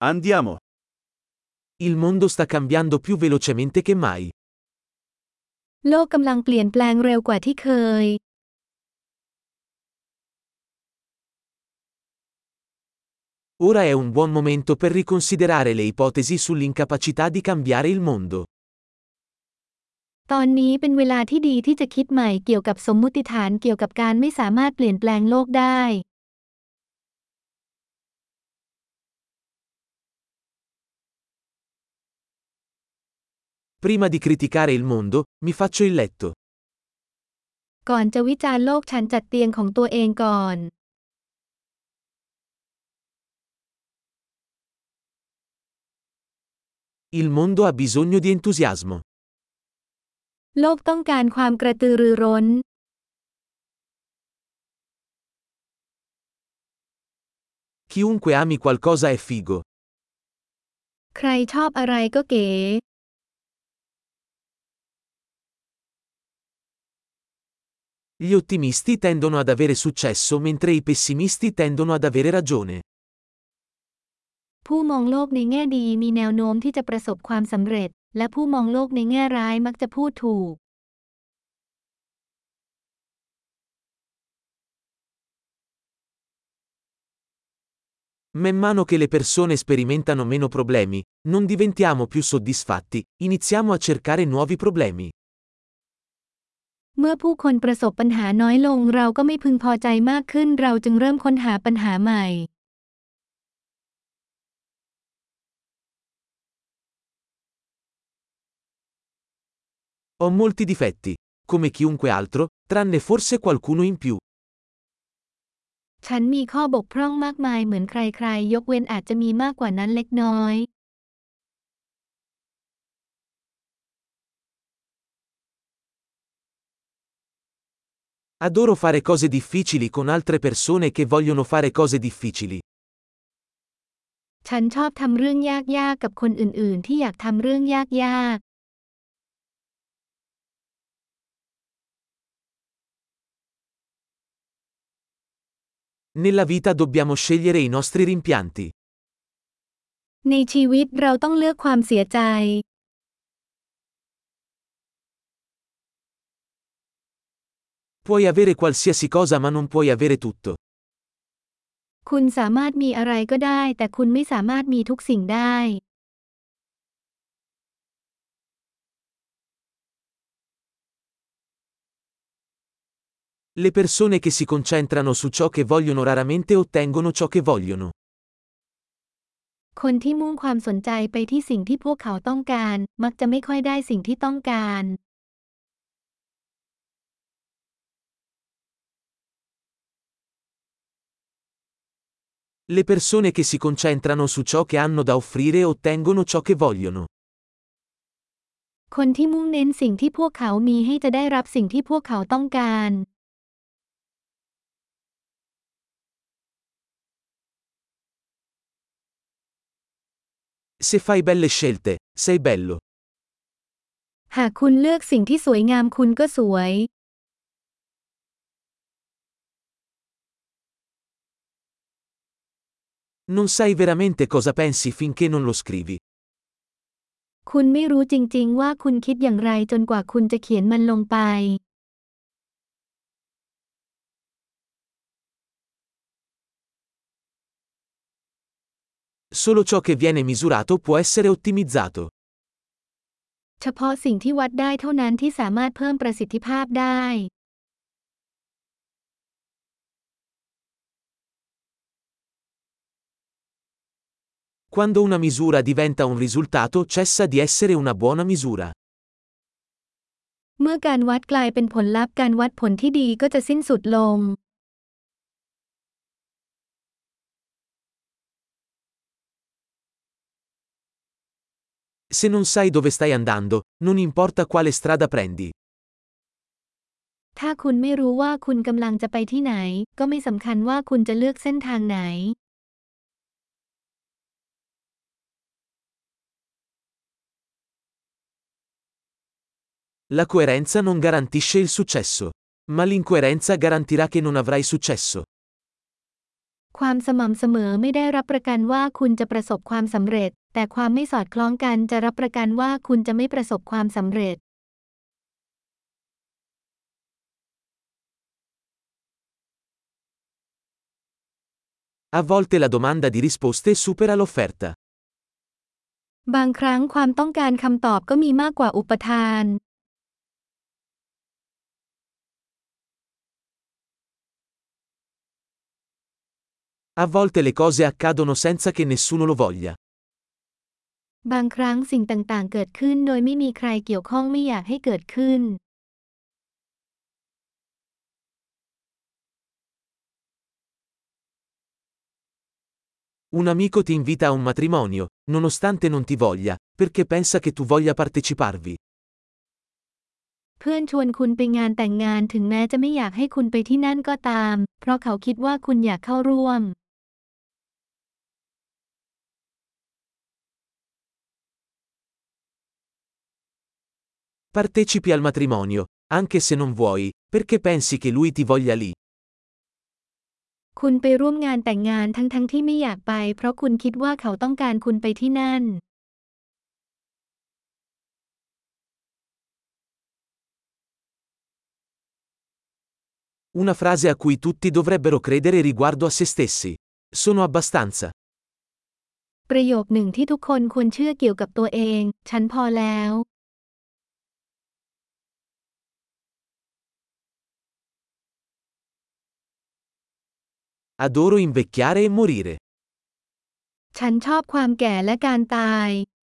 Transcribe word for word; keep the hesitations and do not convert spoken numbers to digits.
Andiamo. Il mondo sta cambiando più velocemente che mai. โลกกำลังเปลี่ยนแปลงเร็วกว่าที่เคย Ora è un buon momento per riconsiderare le ipotesi sull'incapacità di cambiare il mondo. ตอนนี้เป็นเวลาที่ดีที่จะคิดใหม่เกี่ยวกับสมมุติฐานเกี่ยวกับการไม่สามารถเปลี่ยนแปลงโลกได้ Prima di criticare il mondo, mi faccio il letto. ก่อนจะวิจารณ์โลกฉันจัดเตียงของตัวเองก่อน Il mondo ha bisogno di entusiasmo. โลกต้องการความกระตือรือร้น Chiunque ami qualcosa è figo. ใครชอบอะไรก็เก๋ Gli ottimisti tendono ad avere successo mentre i pessimisti tendono ad avere ragione. ผู้มองโลกในแง่ดีมีแนวโน้มที่จะประสบความสำเร็จ และผู้มองโลกในแง่ร้ายมักจะพูดถูก Man mano che le persone sperimentano meno problemi, non diventiamo più soddisfatti, iniziamo a cercare nuovi problemi. เมื่อผู้คนประสบปัญหาน้อยลงเราก็ไม่พึงพอใจมากขึ้นเราจึงเริ่มค้นหาปัญหาใหม่ Ho molti difetti, come chiunque altro, tranne forse qualcuno in più. ฉันมีข้อบกพร่องมากมายเหมือนใครๆยกเว้นอาจจะมีมากกว่านั้นเล็กน้อย Adoro fare cose difficili con altre persone che vogliono fare cose difficili. ฉันชอบทำเรื่องยากๆกับคนอื่นๆที่อยากทำเรื่องยากๆ Nella vita dobbiamo scegliere i nostri rimpianti. ในชีวิตเราต้องเลือกความเสียใจ Puoi avere qualsiasi cosa ma non puoi avere tutto. คุณสามารถมีอะไรก็ได้แต่คุณไม่สามารถมีทุกสิ่งได้ Le persone che si concentrano su ciò che vogliono raramente ottengono ciò che vogliono. คนที่มุ่งความสนใจไปที่สิ่งที่พวกเขาต้องการมักจะไม่ค่อยได้สิ่งที่ต้องการ Le persone che si concentrano su ciò che hanno da offrire ottengono ciò che vogliono. คนที่มุ่งเน้นสิ่งที่พวกเขามีให้จะได้รับสิ่งที่พวกเขาต้องการ Se fai belle scelte, sei bello. หากคุณเลือกสิ่งที่สวยงามคุณก็สวย Non sai veramente cosa pensi finché non lo scrivi. คุณไม่รู้จริงๆว่าคุณคิดอย่างไรจนกว่าคุณจะเขียนมันลงไป Solo ciò che viene misurato può essere ottimizzato. เฉพาะสิ่งที่วัดได้เท่านั้นที่สามารถเพิ่มประสิทธิภาพได้ Quando una misura diventa un risultato cessa di essere una buona misura. เมื่อการวัดกลายเป็นผลลัพธ์การวัดผลที่ดีก็จะสิ้นสุดลง Se non sai dove stai andando, non importa quale strada prendi. ถ้าคุณไม่รู้ว่าคุณกำลังจะไปที่ไหนก็ไม่สำคัญว่าคุณจะเลือกเส้นทางไหน La coerenza non garantisce il successo. Ma l'incoerenza garantirà che non avrai successo. ความสม่ำเสมอไม่ได้รับประกันว่าคุณจะประสบความสำเร็จแต่ความไม่สอดคล้องกันจะรับประกันว่าคุณจะไม่ประสบความสำเร็จ A volte la domanda di risposte supera l'offerta. บางครั้งความต้องการคำตอบก็มีมากกว่าอุปทาน A volte le cose accadono senza che nessuno lo voglia. บางครั้งสิ่งต่างๆเกิดขึ้นโดยไม่มีใครเกี่ยวข้องไม่อยากให้เกิดขึ้น Un amico ti invita a un matrimonio, nonostante non ti voglia, perché pensa che tu voglia parteciparvi. เพื่อนชวนคุณไปงานแต่งงานถึงแม้จะไม่อยากให้คุณไปที่นั่นก็ตาม เพราะเขาคิดว่าคุณอยากเข้าร่วม Partecipi al matrimonio, anche se non vuoi, perché pensi che lui ti voglia lì. คุณไปร่วมงานแต่งงานทั้งๆที่ไม่อยากไปเพราะคุณคิดว่าเขาต้องการคุณไปที่นั่น Una frase a cui tutti dovrebbero credere riguardo a se stessi. Sono abbastanza. ประโยคหนึ่งที่ทุกคนควรเชื่อเกี่ยวกับตัวเอง ฉันพอแล้ว Adoro invecchiare e morire. ฉันชอบความแก่และการตาย